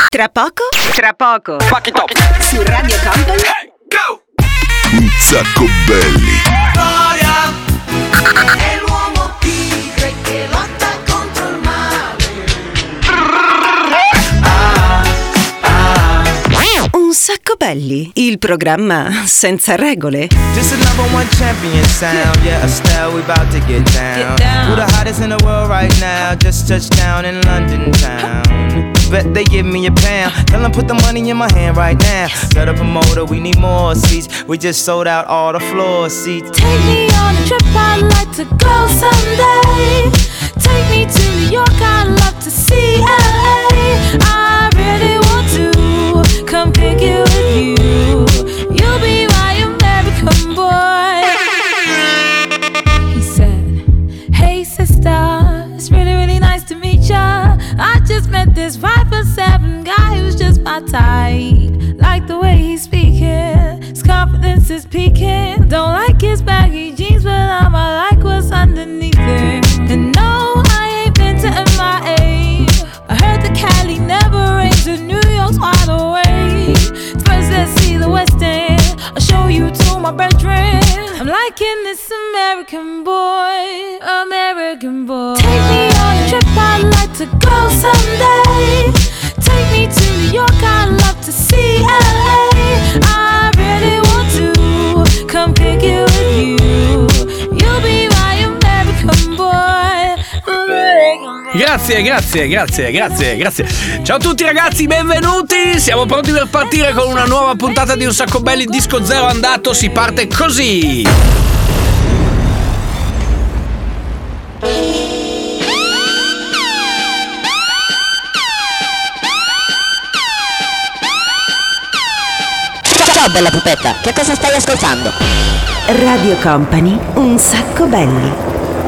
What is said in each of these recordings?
Tra poco. Fuck it up. Su Radio Company. Hey, go! Un sacco belli. Gloria è l'uomo tigre che lotta contro il male. Un sacco belli, il programma senza regole. This is number one champion sound. Yeah, Estelle, we about to get down. Who the hottest in the world right now? Just touched down in London town. Bet they give me a pound. Tell them put the money in my hand right now. Got a promoter, we need more seats. We just sold out all the floor seats. Take me on a trip, I'd like to go someday. Take me to New York, I'd love to see LA. I really want to come kick it with you. You'll be my American boy. He said, hey sister, it's really, really nice to meet ya. I just met this 5'7" guy who's just my type. Like the way he's speaking, his confidence is peaking. Don't like his baggy jeans, but I'ma like what's underneath it. And no, I ain't been to MIA. I heard that Cali never rains and New York's wide awake. First let's see the West End, I'll show you to my bedroom. I'm liking this American boy, American boy. Take me on a trip, I'd like to go someday. Take me to New York, I'd love to see LA. I really want to come kick it with you. You'll be my American boy, Grazie. Ciao a tutti ragazzi, benvenuti. Siamo pronti per partire con una nuova puntata di Un Sacco Belli. Disco zero andato, si parte così. Ciao bella pupetta, che cosa stai ascoltando? Radio Company, un sacco belli.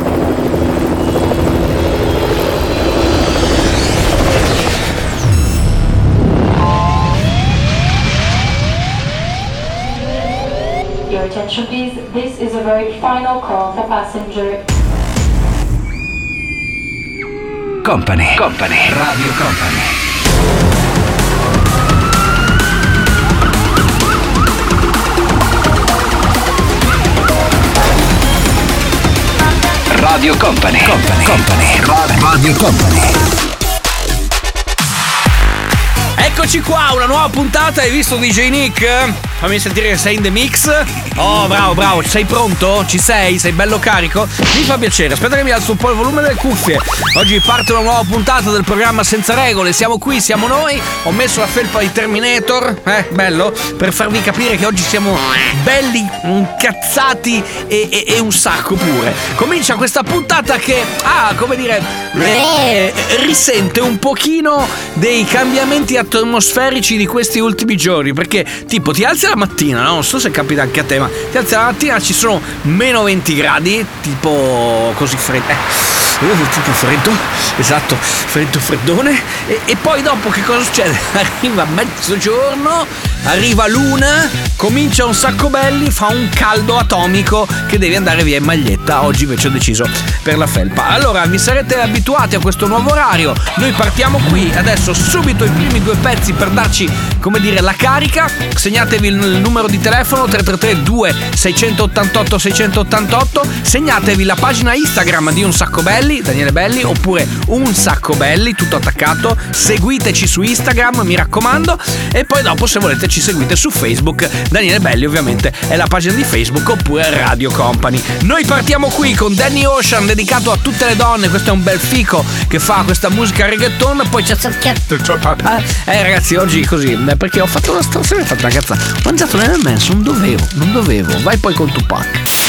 Your attention please, this is a very final call for passenger. Company, Radio Company. Radio Company. Radio Company. Eccoci qua, una nuova puntata. Hai visto DJ Nick? Fammi sentire che sei in the mix. Oh, bravo, sei pronto? Ci sei? Sei bello carico? Mi fa piacere, aspetta che mi alzo un po' il volume delle cuffie. Oggi parte una nuova puntata del programma Senza Regole. Siamo qui, siamo noi. Ho messo la felpa di Terminator, bello, per farvi capire che oggi siamo belli, incazzati e un sacco pure. Comincia questa puntata che risente un pochino dei cambiamenti atmosferici di questi ultimi giorni. Perché tipo ti alzi la mattina, no? Non so se capita anche a te, ma ti alzi la mattina, ci sono meno 20 gradi, tipo così freddo. Tipo freddo, esatto, freddone. E poi dopo che cosa succede? Arriva mezzogiorno, arriva l'una, comincia Un Sacco Belli, fa un caldo atomico che devi andare via in maglietta. Oggi invece ho deciso per la felpa. Allora vi sarete abituati a questo nuovo orario. Noi partiamo qui adesso subito i primi due pezzi per darci, la carica. Segnatevi il numero di telefono 333 2688 688. Segnatevi la pagina Instagram di Un Sacco Belli, Daniele Belli, oppure Un Sacco Belli, tutto attaccato. Seguiteci su Instagram, mi raccomando. E poi dopo, se volete, ci seguite su Facebook. Daniele Belli ovviamente è la pagina di Facebook, oppure Radio Company. Noi partiamo qui con Danny Ocean, dedicato a tutte le donne. Questo è un bel fico che fa questa musica reggaeton. Poi c'è ragazzi, oggi così, perché ho fatto una cazzata. Ho mangiato nel menso, non dovevo. Vai poi con Tupac.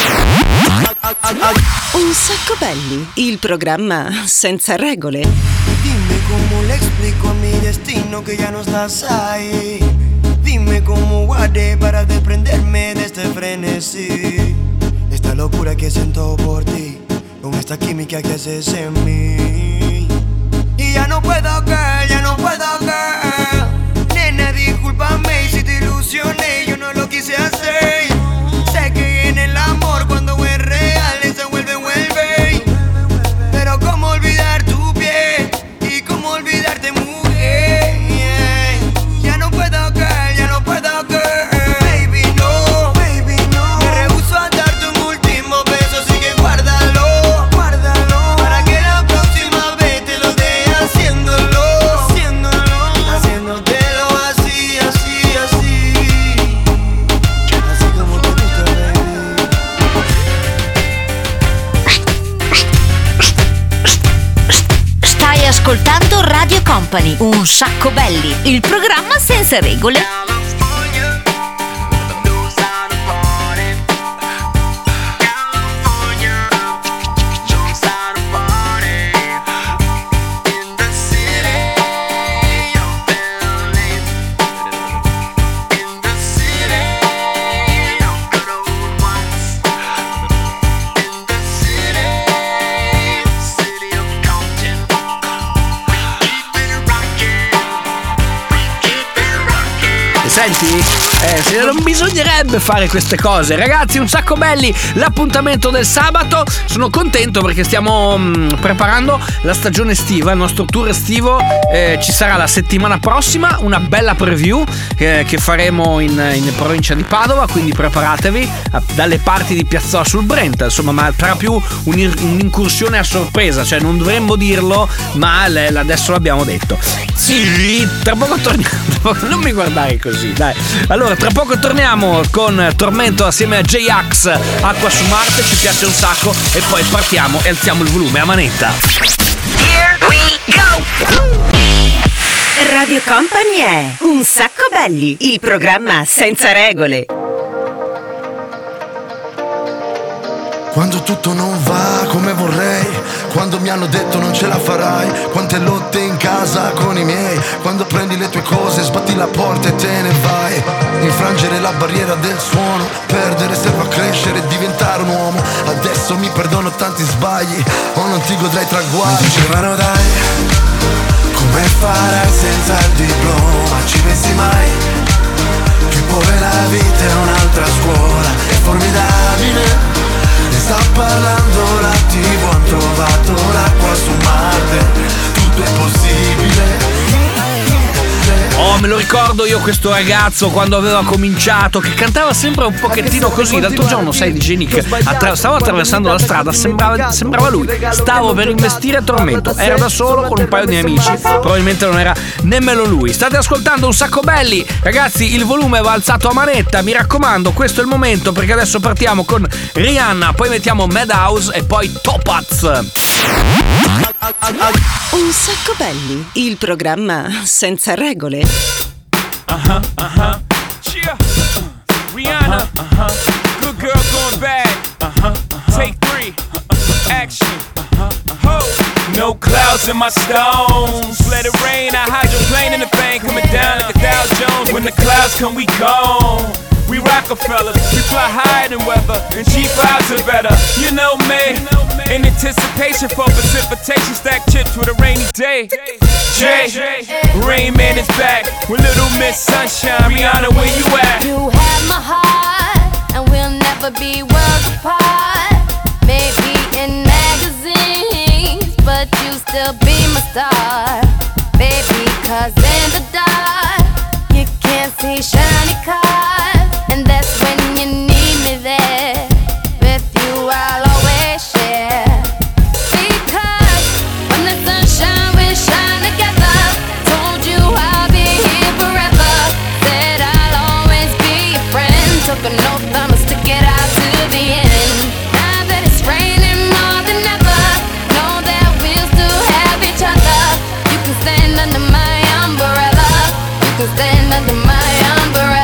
Un Sacco Belli, il programma senza regole. Dime cómo le explico a mi destino que ya no estás ahí. Dime cómo guardé para desprenderme de este frenesí. Esta locura que siento por ti, con esta química que haces en mí. Y ya no puedo, girl. Nena, discúlpame si te ilusioné, yo no lo quise hacer. Sé que en el amor cuando es real se vuelve. Pero cómo olvidar tu piel y cómo olvidarte, mujer. Un sacco belli, il programma senza regole. Senti? Non bisognerebbe fare queste cose. Ragazzi, un sacco belli, l'appuntamento del sabato. Sono contento perché stiamo preparando la stagione estiva, il nostro tour estivo. Ci sarà la settimana prossima una bella preview che faremo in provincia di Padova, quindi preparatevi, dalle parti di Piazzola sul Brenta, insomma, ma sarà più un'incursione a sorpresa, cioè non dovremmo dirlo, ma adesso l'abbiamo detto. Sì, tra poco torniamo. Non mi guardare così, dai. Allora, tra poco torniamo con Tormento assieme a J-Ax, Acqua su Marte, ci piace un sacco, e poi partiamo e alziamo il volume a manetta. Here we go! Radio Company è Un sacco belli, il programma senza regole. Quando tutto non va come vorrei, quando mi hanno detto non ce la farai, quante lotte in casa con i miei, quando prendi le tue cose, sbatti la porta e te ne vai. Infrangere la barriera del suono, perdere serve a crescere e diventare un uomo. Adesso mi perdono tanti sbagli, o non ti godrai traguardi. Mi dicevano dai, come farai senza il diploma, ci pensi mai? Che poi la vita è un'altra scuola, è formidabile. Ne sta parlando la TV, han trovato l'acqua su Marte, tutto è possibile. Oh, me lo ricordo io questo ragazzo quando aveva cominciato, che cantava sempre un pochettino così. L'altro giorno, sai, DJ Nick, stavo attraversando la strada, sembrava lui. Stavo per investire a Tormento, era da solo con un paio di amici, probabilmente non era nemmeno lui. State ascoltando Un sacco belli, ragazzi, il volume va alzato a manetta, mi raccomando, questo è il momento, perché adesso partiamo con Rihanna, poi mettiamo Madhouse e poi Topaz. Un sacco belli, il programma senza regole. Yeah. Rihanna. Good girl going bad. Take 3. Action. Ho. No clouds in my stones. Let it rain. I hydroplane in the thing coming down like a Dow Jones. When the clouds come, we gone. We Rockefellers, we fly higher than weather, and cheap vibes are better. You know me, in anticipation for precipitation, stack chips with a rainy day. Jay, Rain Man is back with Little Miss Sunshine. Rihanna, where you at? You have my heart, and we'll never be worlds apart. Maybe in magazines, but you still be my star. Baby, 'cause in the dark, you can't see shiny cars. And that's when you need me there. With you I'll always share. Because when the sunshine will shine together. Told you I'll be here forever. Said I'll always be your friend. Took an oath I'ma stick it out to the end. Now that it's raining more than ever, know that we'll still have each other. You can stand under my umbrella. You can stand under my umbrella.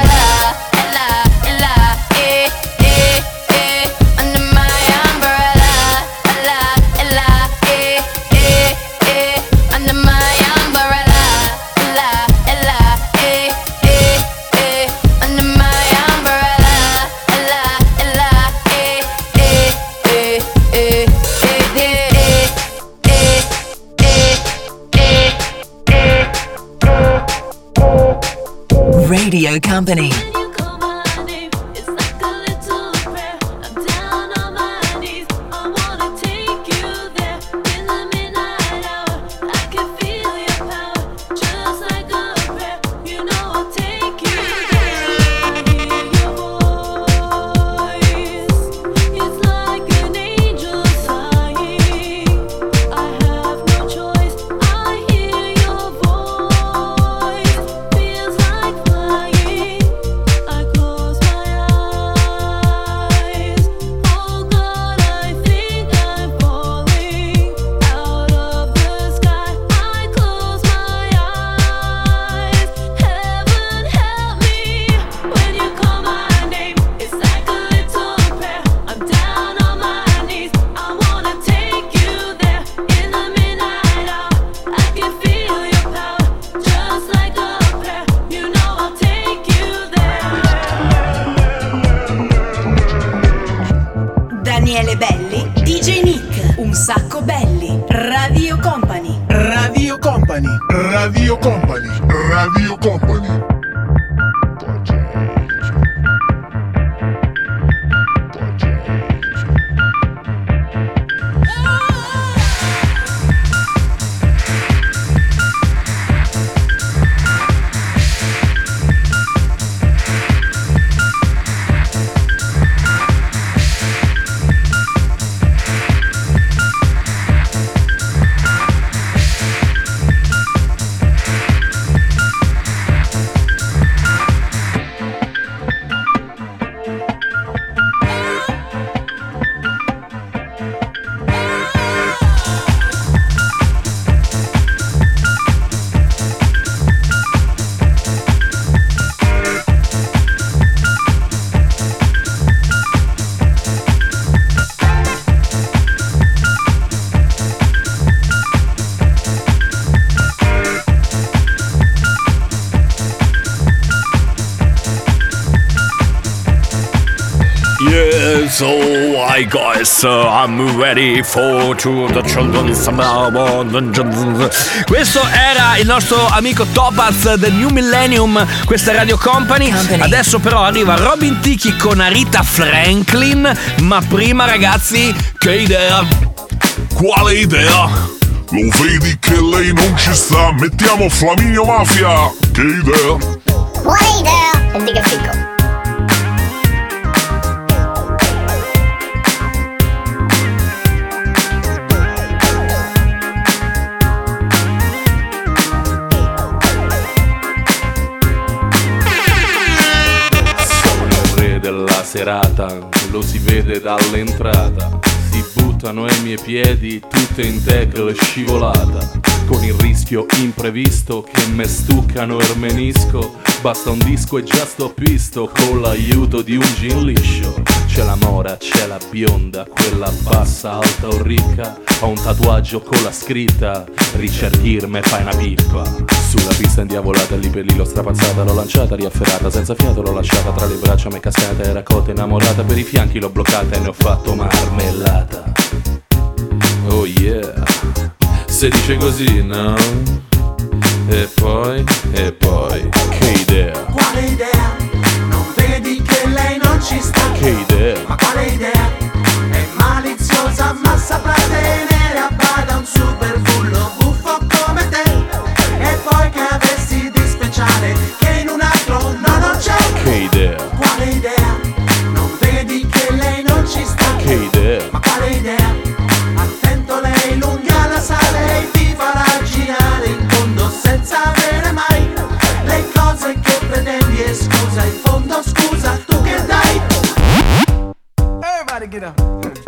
Radio Company. Radio Company. So hi guys, I'm ready for to the children's. Questo era il nostro amico Topaz del New Millennium, questa è Radio Company. Adesso però arriva Robin Thicke con Aretha Franklin. Ma prima ragazzi, che idea? Quale idea? Lo vedi che lei non ci sta? Mettiamo Flaminio Mafia. Che idea? Quale idea? E dica fico. Serata, lo si vede dall'entrata, si buttano ai miei piedi tutte in tackle scivolata, con il rischio imprevisto che me stuccano e menisco, basta un disco e già sto pisto, con l'aiuto di un gin liscio. C'è la mora, c'è la bionda, quella bassa, alta o ricca, ho un tatuaggio con la scritta Richard Gere me fai una pippa. Sulla pista indiavolata, lì per lì l'ho strapazzata, l'ho lanciata, riafferrata, senza fiato l'ho lasciata, tra le braccia m'è cascata, era cotta innamorata, per i fianchi l'ho bloccata e ne ho fatto marmellata. Oh yeah, se dice così, no? E poi, che idea? Quale idea? Non vedi che lei non ci sta? Che idea? Ma quale idea? È maliziosa ma saprà tenere a bada un super bullo buffo come te. E poi che avessi di speciale che in un altro no non c'è. Che idea? Quale idea? Non vedi che lei non ci sta? Che idea? Ma quale idea? Attento, lei l'unghia la sale e ti farà girare in fondo senza avere mai le cose che pretendi. E scusa, in fondo scusa, tu che dai? Everybody get up.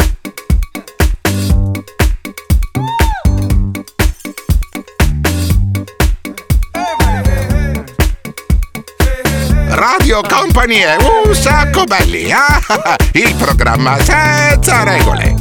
Radio Company è un sacco belli, il programma senza regole.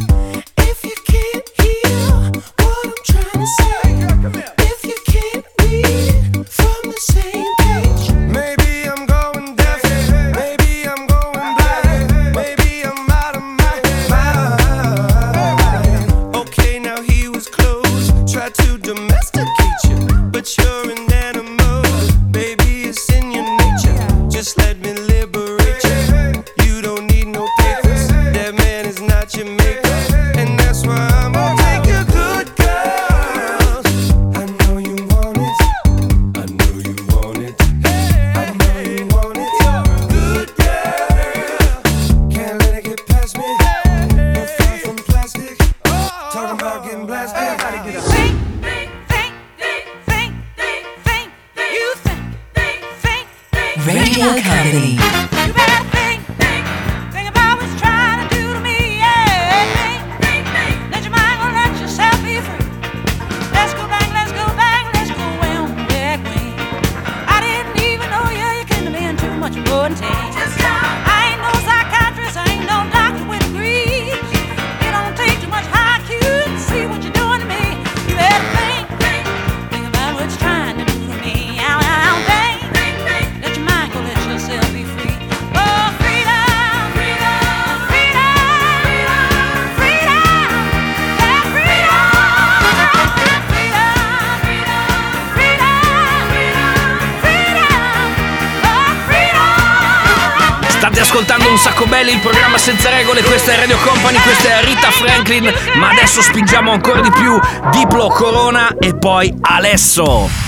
Radio Company. State ascoltando Un Sacco Belli, il programma senza regole. Questa è Radio Company, questa è Rita Franklin. Ma adesso spingiamo ancora di più. Diplo, Corona e poi Alesso.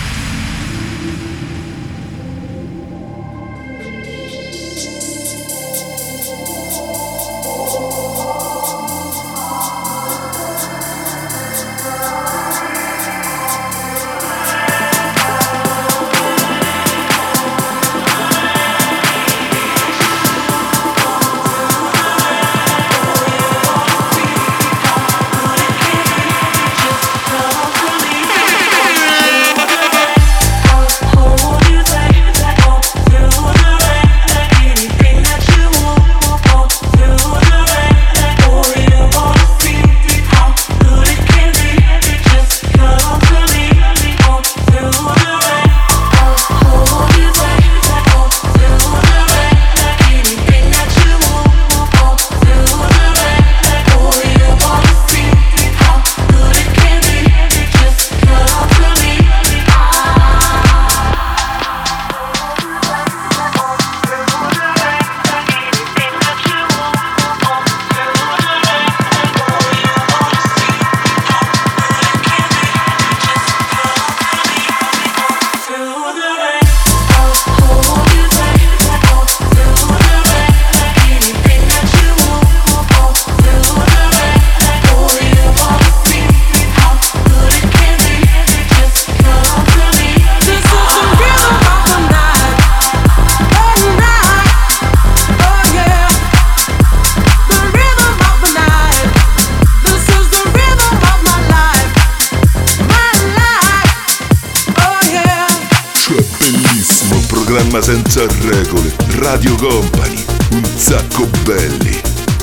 Programma senza regole, Radio Company, Un Sacco Belli.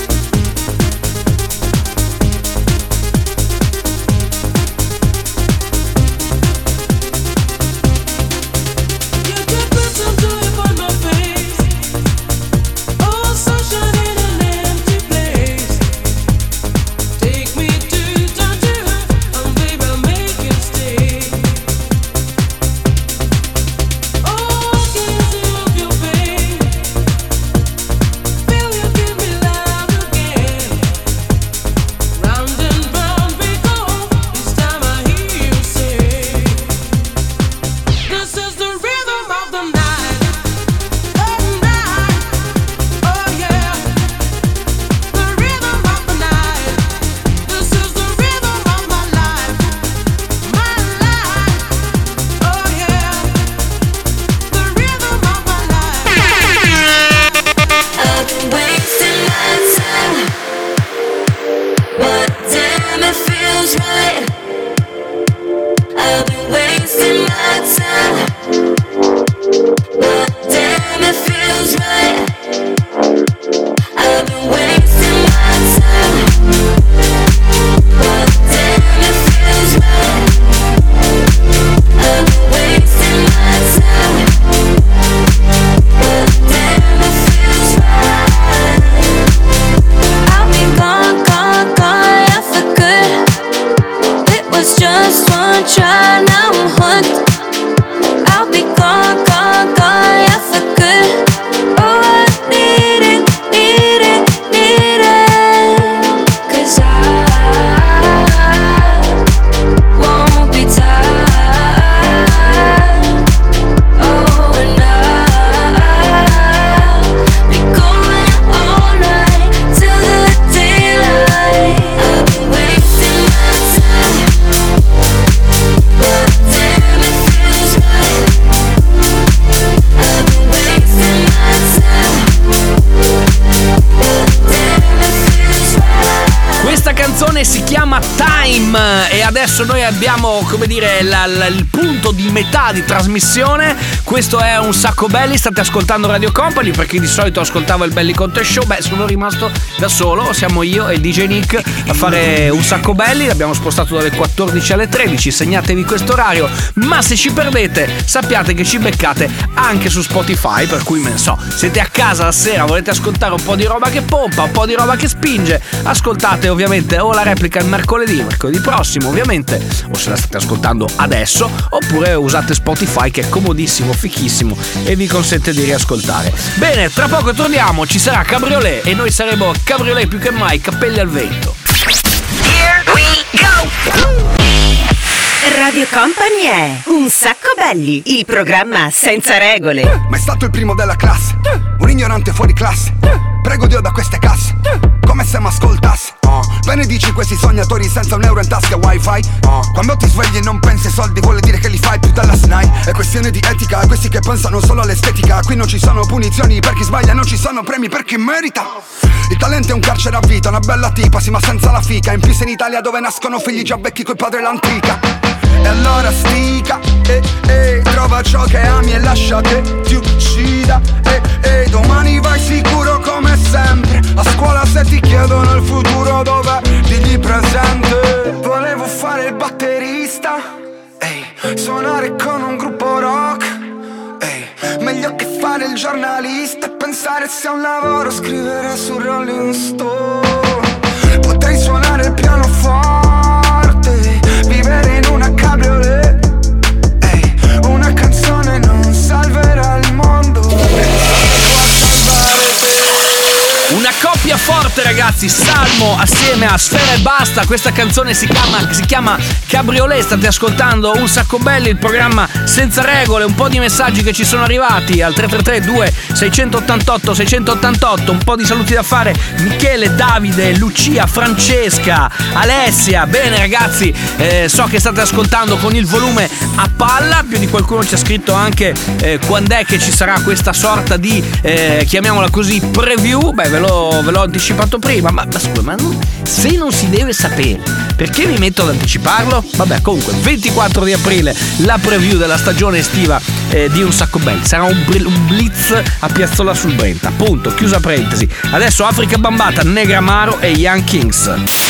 Si chiama Time e adesso noi abbiamo, come dire, il punto di metà di trasmissione. Questo è Un Sacco Belli, state ascoltando Radio Company. Per chi di solito ascoltava il Belli Conte Show, sono rimasto da solo, siamo io e il DJ Nick a fare Un Sacco Belli. L'abbiamo spostato dalle 14 alle 13, segnatevi questo orario. Ma se ci perdete, sappiate che ci beccate anche su Spotify, per cui siete a casa la sera, volete ascoltare un po' di roba che pompa, un po' di roba che spinge, ascoltate ovviamente o la replica il mercoledì venerdì prossimo, ovviamente, o se la state ascoltando adesso, oppure usate Spotify, che è comodissimo, fichissimo e vi consente di riascoltare. Bene, tra poco torniamo, ci sarà Cabriolet e noi saremo Cabriolet più che mai, cappelli al vento. Here we go! Radio Company è Un Sacco Belli, il programma senza regole. Ma è stato il primo della classe, un ignorante fuori classe. Prego Dio da queste casse, come se m'ascoltasse. Benedici questi sognatori senza un euro in tasca wifi. Quando ti svegli e non pensi ai soldi vuole dire che li fai più della SNAI. È questione di etica, questi che pensano solo all'estetica. Qui non ci sono punizioni per chi sbaglia, non ci sono premi per chi merita. Il talento è un carcere a vita, una bella tipa, sì ma senza la fica. In più sei in Italia dove nascono figli già vecchi coi padri l'antica. E allora stica, trova ciò che ami e lascia che ti uccida. Domani vai sicuro come sempre. A scuola se ti chiedono il futuro dov'è, digli presente. Volevo fare il batterista, suonare con un gruppo rock, meglio che fare il giornalista e pensare sia un lavoro scrivere su Rolling Stone. Potrei suonare il pianoforte, vivere in una cabriolet. Una canzone non salverà il mondo, una coppia forte, ragazzi, Salmo assieme a Sfera e Basta. Questa canzone si chiama Cabriolet. State ascoltando Un Sacco Belli, il programma senza regole. Un po' di messaggi che ci sono arrivati al 333 2688 688. Un po' di saluti da fare: Michele, Davide, Lucia, Francesca, Alessia. Bene ragazzi, so che state ascoltando con il volume a palla. Più di qualcuno ci ha scritto anche quando è che ci sarà questa sorta di chiamiamola così preview. Beh, ve l'ho anticipato prima, ma scusa, ma se non si deve sapere, perché mi metto ad anticiparlo? Vabbè, comunque 24 di aprile la preview della stagione estiva di Un Sacco Belli. Sarà un blitz a Piazzola sul Brenta, appunto, chiusa parentesi. Adesso Africa Bambata, Negramaro e Young Kings.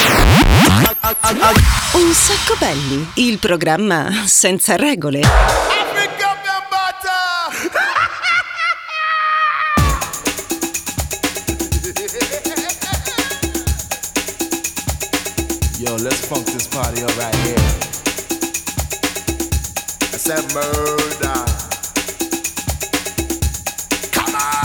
Un Sacco Belli, il programma senza regole. Yo, let's funk this party up right here. I said murder. Come on!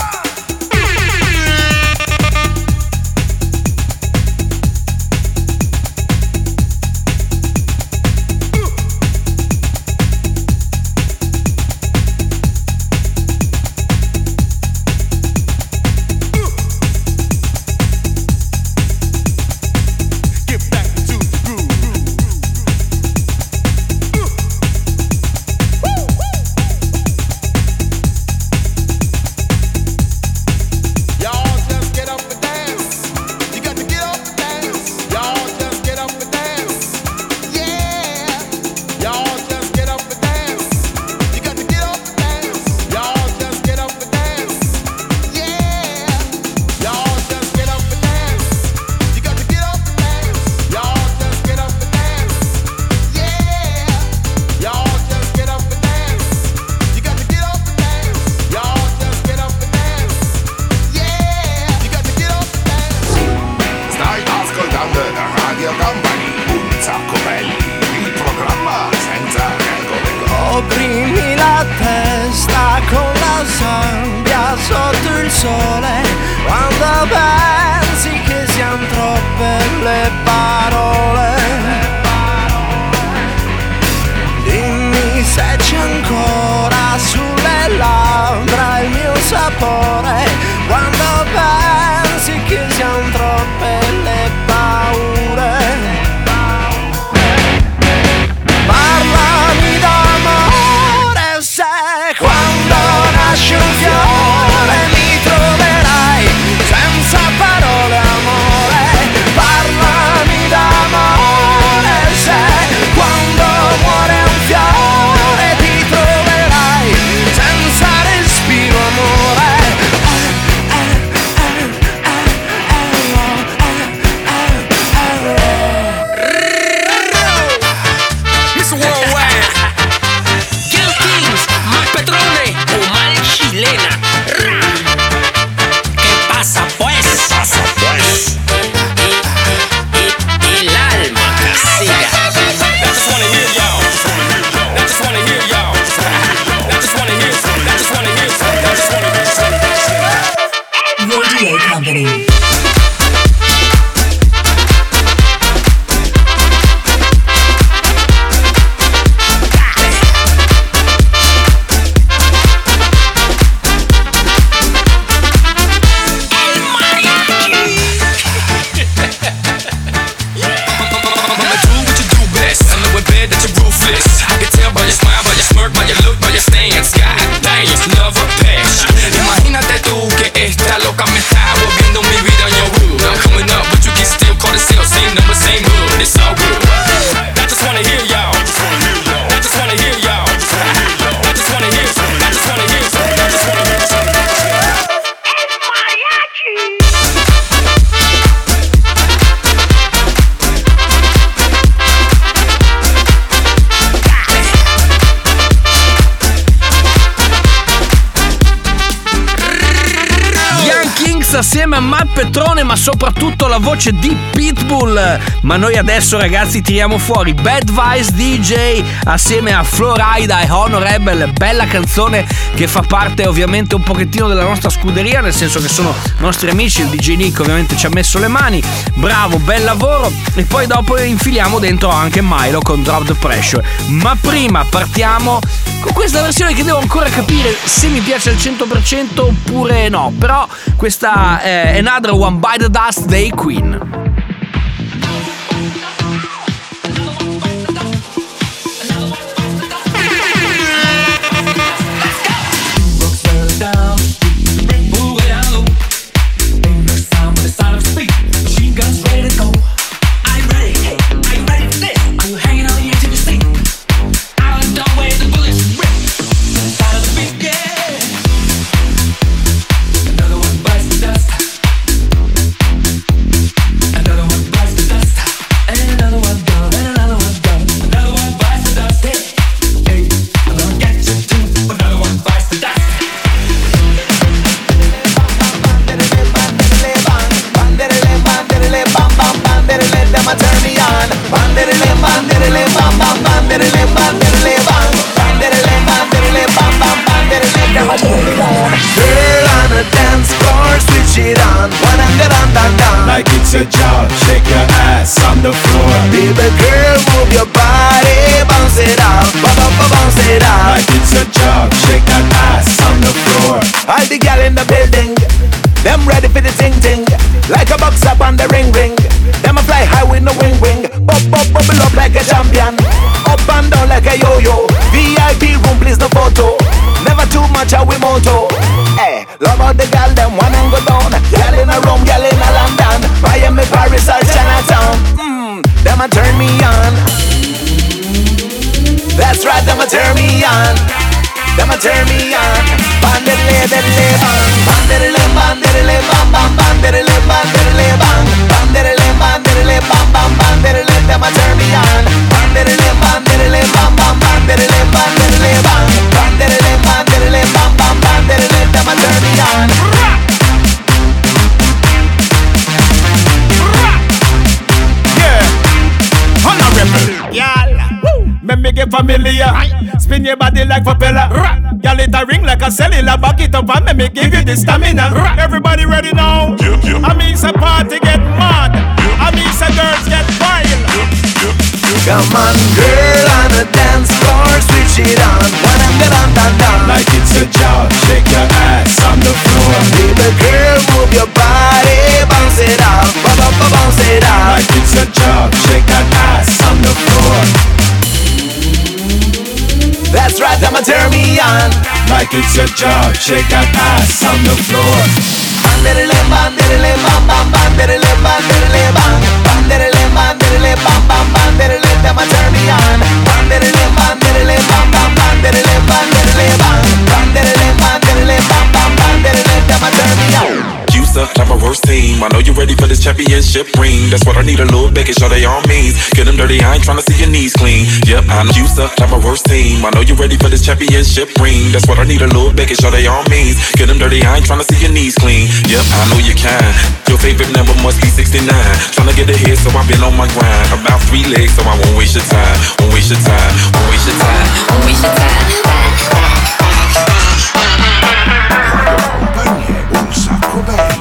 Chilena. Remix assieme a Matt Petrone, ma soprattutto la voce di Pitbull. Ma noi adesso, ragazzi, tiriamo fuori Bad Vice DJ assieme a Florida e Honorable. Bella canzone che fa parte ovviamente un pochettino della nostra scuderia, nel senso che sono nostri amici. Il DJ Nick ovviamente ci ha messo le mani, bravo, bel lavoro. E poi dopo infiliamo dentro anche Milo con Drop the Pressure. Ma prima partiamo con questa versione che devo ancora capire se mi piace al 100% oppure no. Però questa è Another One by the Dust dei Queen. Like it's a job, shake your ass on the floor. Baby girl, move your body, bounce it up, bounce it up. Like it's a job, shake that ass on the floor. All the gal in the building, them ready for the ting ting. Like a box up on the ring ring. Them a fly high with no wing wing. Bubble up like a champion. Up and down like a yo-yo. VIP room, please no photo. Never too much how we moto. Hey, love all the gal, them one and go down. Gal in a Rome, gal in a London, Miami, Paris or Chinatown. Them a turn me on. That's right, them a turn me on. Them a turn me on. Bandere bang, bandere bang, bandere bang, bandere bang, bandere bang, bandere bang, bandere. Them a turn me on. Bandere bang, bandere bang, bandere bang, bandere bang, bandere bang, bandere. Them a turn me on. Make me get familiar. Spin your body like propeller. Y'all it a ring like a cellular. Back it up and make me give you the stamina. Everybody ready now? I mean it's a party get mad. I mean it's a girls get wild. Come on girl on the dance floor, switch it on. Dun. Like it's a job, shake your ass on the floor. Baby girl, move your body, bounce it up, bounce it up. Like it's a job, shake that ass on the floor. That's right, I'ma turn me on. Like it's a job, shake that ass on the floor. Bandere bang, bandere bang, bandere bang, bandere bang, bandere. I'ma turn me on. Bandere bang, bandere bang, bandere bang, bandere bang, bandere. I'ma turn me on. Up, type of worst team. I know you're ready for this championship ring. That's what I need, a little bit, show they all means. Get them dirty, I ain't tryna see your knees clean. Yep, I know you suck, type of worst team. I know you're ready for this championship ring. That's what I need, a little bit, show they all means. Get them dirty, I ain't tryna see your knees clean. Yep, I know you can. Your favorite number must be 69. Tryna get ahead, so I've been on my grind. About 3 legs, so I won't waste your time. Won't waste your time, won't waste your time, won't waste your time. Un sacco belli.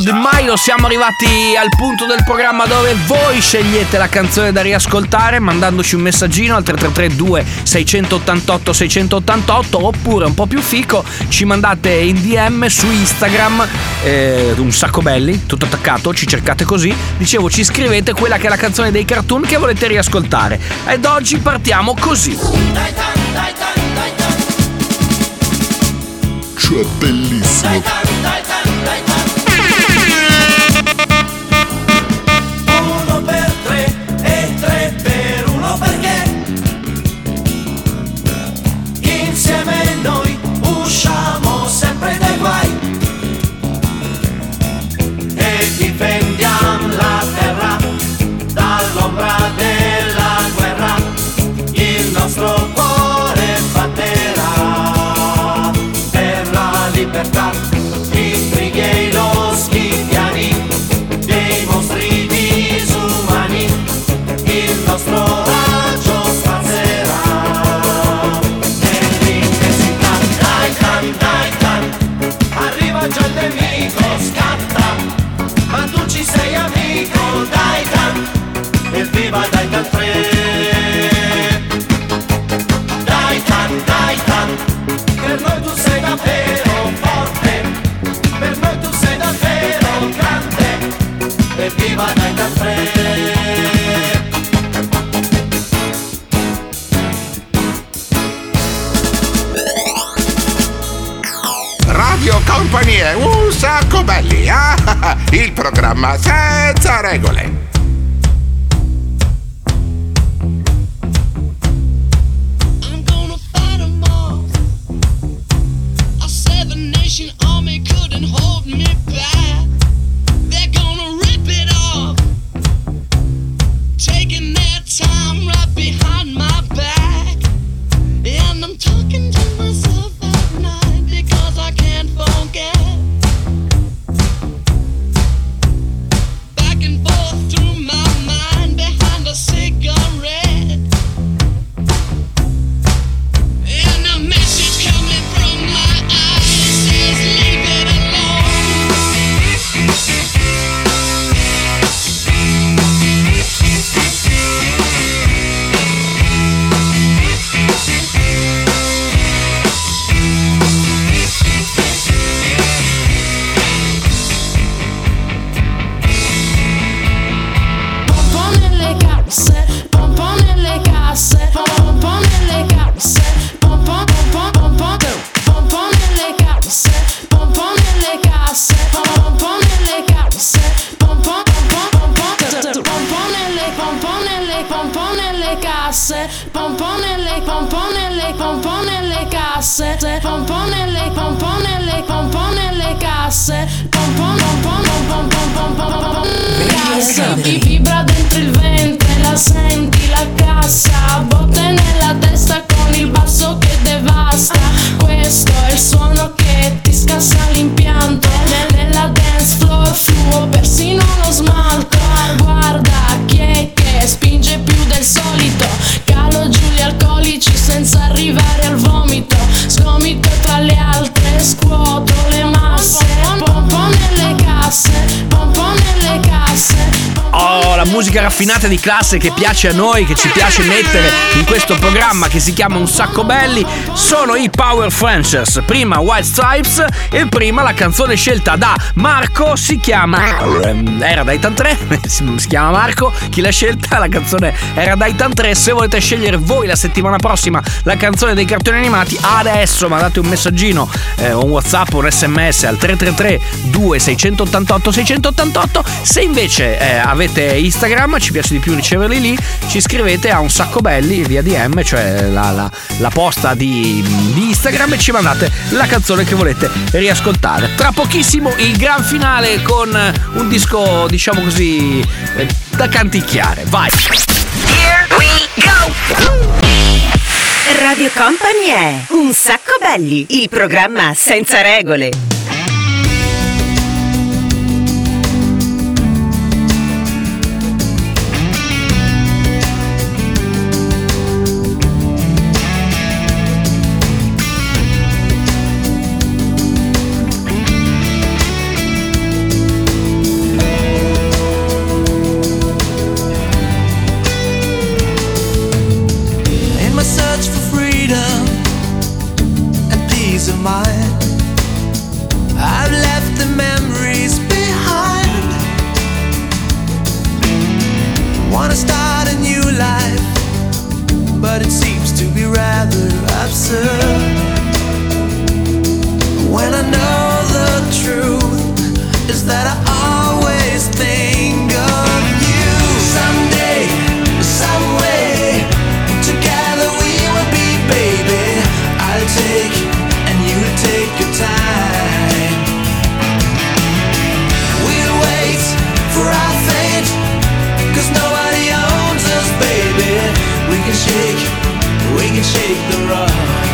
the Milo. Siamo arrivati al punto del programma dove voi scegliete la canzone da riascoltare mandandoci un messaggino al 333 2688 688, oppure un po' più fico ci mandate in DM su Instagram un sacco belli, tutto attaccato, ci cercate così, dicevo, ci scrivete quella che è la canzone dei cartoon che volete riascoltare. Ed oggi partiamo così. Cioè bellissimo. Uno per tre e tre per uno, perché insieme noi usciamo sempre dai guai e difendiamo la terra dall'ombra della guerra. Il nostro cuore batterà per la libertà, i brighi e i loschi piani dei mostri disumani. Il nostro raggio spazzerà nell'intensità. Dai can, arriva già il nemico, scatta, ma tu ci sei amico. Dai can, evviva dai can 3. Dai can, per noi tu sei davvero forte, per noi tu sei davvero grande, evviva dai can 3. Radio Company, un sacco belli, il programma senza regole. Army couldn't hold me back. They're gonna rip it off, taking their time right behind my back. And I'm talking to myself at night because I can't forget. Back and forth through my mind behind a cigarette. And a message coming from my eyes says leave it alone. Pompo nelle casse, pompo nelle casse, pompo nelle casse, pompo pompo pompo pompo nelle casse, pompo nelle casse, pompo nelle casse, pompo pompo pompo pompo nelle casse, pompo nelle casse, pompo nelle casse, pompo casse. Ti vibra dentro il ventre, la senti la cassa, botte nella testa con il basso che devasta. Questo è il suono che ti scassa l'impianto. Nella dance floor fluo persino lo smalto. Guarda chi è che spinge più del solito, calo giù gli alcolici senza arrivare al vomito. Sgomito tra le altre, scuoto le masse. Pompo nelle casse, pompo nelle casse. Oh, la musica raffinata di classe che piace a noi, che ci piace mettere in questo programma che si chiama Un Sacco Belli, sono i Power Franchers. Prima White Stripes e prima la canzone scelta da Marco, si chiama Era Daitan 3, si chiama Marco, chi l'ha scelta, la canzone Era Daitan 3. Se volete scegliere voi la settimana prossima la canzone dei cartoni animati, adesso mandate un messaggino, un WhatsApp, un SMS al 333 2688 688. Se invece avete Instagram, ci piace di più riceverli lì, ci scrivete a Un Sacco Belli via DM, cioè la posta di Instagram, e ci mandate la canzone che volete riascoltare. Tra pochissimo il gran finale con un disco, diciamo così, da canticchiare. Vai! Here we go! Radio Company è Un Sacco Belli, il programma senza regole. mind. I've left the memories behind. Wanna start a new life, but it seems to be rather absurd. When I know the truth is that I always think of you. Someday, some way, together we will be, baby. I'll take and you'll take your time. We'll wait for our fate, 'cause nobody owns us, baby. We can shake the rock.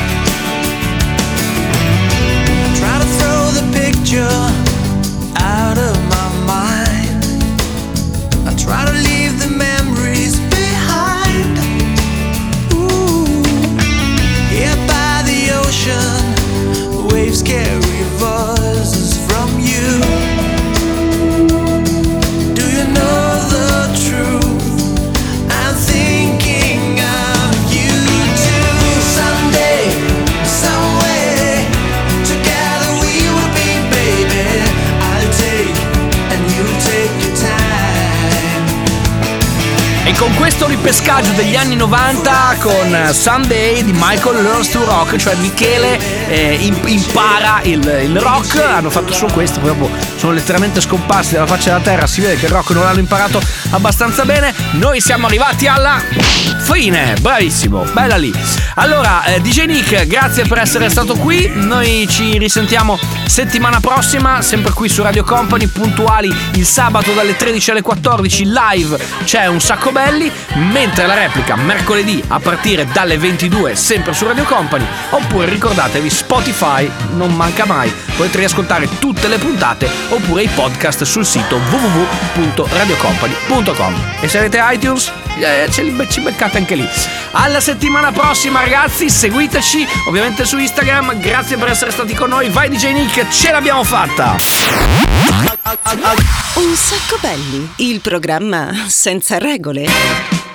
Try to throw the picture out of my mind. I try to leave the memories behind. Ooh. Here by the ocean, waves carry voices from you. Do you know the truth? I'm thinking of you too. Someday, some way, together we will be, baby. I'll take and you'll take your time. E con questo ripescaggio degli anni 90 con Someday di Michael Learns to Rock, cioè Michele impara il rock, hanno fatto solo questo, poi dopo sono letteralmente scomparsi dalla faccia della terra, si vede che il rock non l'hanno imparato abbastanza bene. Noi siamo arrivati alla fine, bravissimo, bella lì. Allora, DJ Nick, grazie per essere stato qui, noi ci risentiamo settimana prossima, sempre qui su Radio Company, puntuali il sabato dalle 13 alle 14, live c'è Un Sacco Belli, mentre la replica mercoledì a partire dalle 22 sempre su Radio Company, oppure ricordatevi Spotify, non manca mai, potete riascoltare tutte le puntate oppure i podcast sul sito www.radiocompany.com. E se avete iTunes ci beccate anche lì. Alla settimana prossima ragazzi, seguiteci ovviamente su Instagram, grazie per essere stati con noi. Vai DJ Nick, ce l'abbiamo fatta. Un Sacco Belli, il programma senza regole.